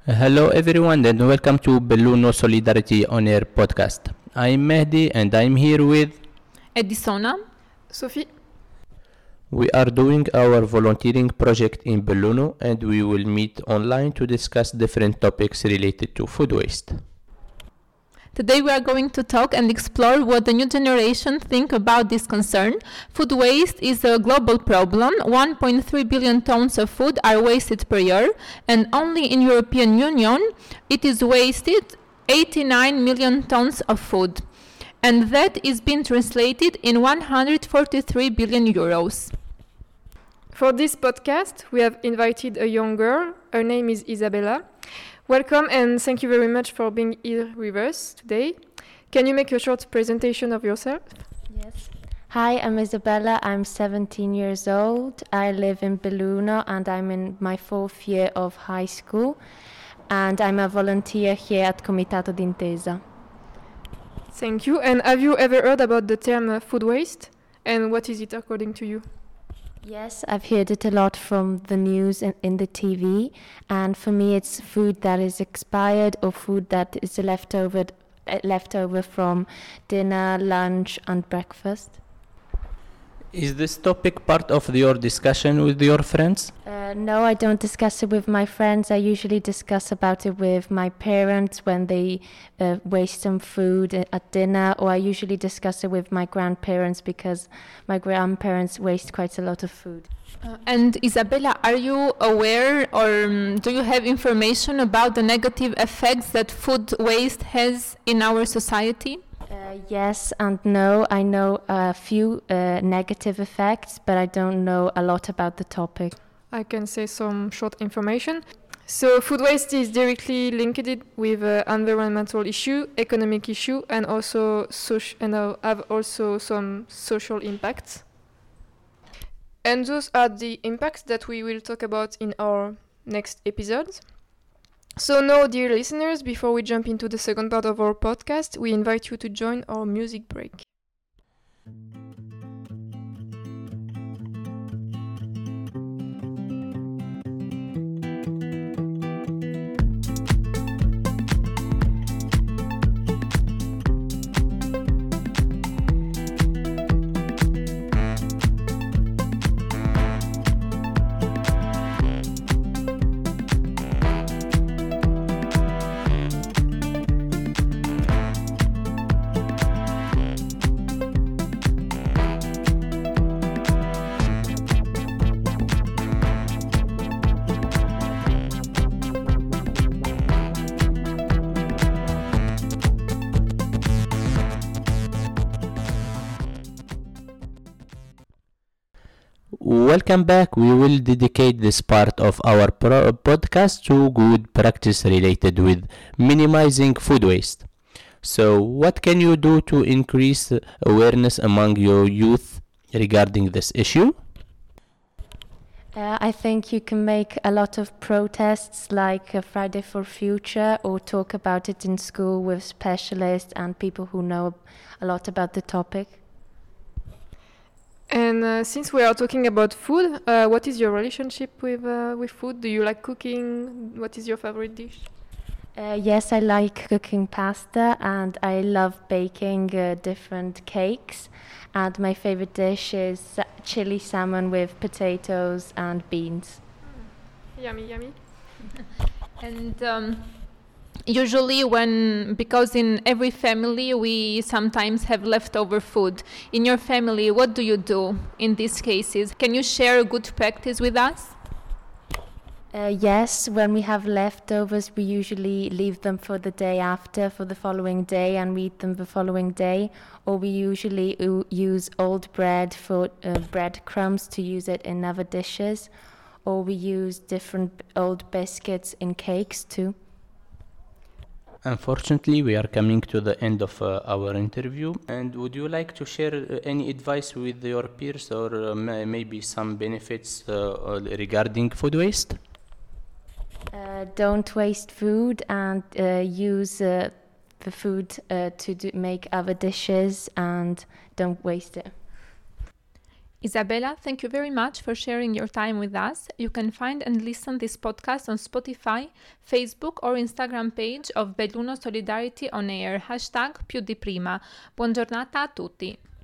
Hello everyone and welcome to Belluno Solidarity On Air podcast. I'm Mehdi and I'm here with Edisona. Sophie. We are doing our volunteering project in Belluno and we will meet online to discuss different topics related to food waste. Today we are going to talk and explore what the new generation think about this concern. Food waste is a global problem. 1.3 billion tons of food are wasted per year, and only in European Union it is wasted 89 million tons of food. And that is being translated in 143 billion euros. For this podcast, we have invited a young girl. Her name is Isabella. Welcome and thank you very much for being here with us today. Can you make a short presentation of yourself? Yes. Hi, I'm Isabella. I'm 17 years old. I live in Belluno and I'm in my 4th year of high school. And I'm a volunteer here at Comitato d'Intesa. Thank you. And have you ever heard about the term food waste? And what is it according to you? Yes, I've heard it a lot from the news and in the TV. And for me, it's food that is expired or food that is left over from dinner, lunch, and breakfast. Is this topic part of your discussion with your friends? No, I don't discuss it with my friends. I usually discuss about it with my parents when they waste some food at dinner, or I usually discuss it with my grandparents because my grandparents waste quite a lot of food. And Isabella, are you aware or do you have information about the negative effects that food waste has in our society? Yes and no. I know a few negative effects, but I don't know a lot about the topic. I can say some short information. So food waste is directly linked with environmental issue, economic issue, and also have also some social impacts. And those are the impacts that we will talk about in our next episodes. So now, dear listeners, before we jump into the second part of our podcast, we invite you to join our music break. Welcome back. We will dedicate this part of our podcast to good practice related with minimizing food waste. So, what can you do to increase awareness among your youth regarding this issue? I think you can make a lot of protests like Friday for Future, or talk about it in school with specialists and people who know a lot about the topic. And since we are talking about food, what is your relationship with food? Do you like cooking? What is your favorite dish? Yes, I like cooking pasta and I love baking different cakes. And my favorite dish is chili salmon with potatoes and beans. Yummy, yummy. And usually because in every family we sometimes have leftover food. In your family, what do you do in these cases? Can you share a good practice with us? Yes, when we have leftovers, we usually leave them for the day after, for the following day, and we eat them the following day. Or we usually use old bread for breadcrumbs to use it in other dishes. Or we use different old biscuits in cakes too. Unfortunately, we are coming to the end of our interview. And would you like to share any advice with your peers or maybe some benefits regarding food waste? Don't waste food and use the food to make other dishes and don't waste it. Isabella, thank you very much for sharing your time with us. You can find and listen this podcast on Spotify, Facebook or Instagram page of Belluno Solidarity On Air, #più di prima. Buona giornata a tutti.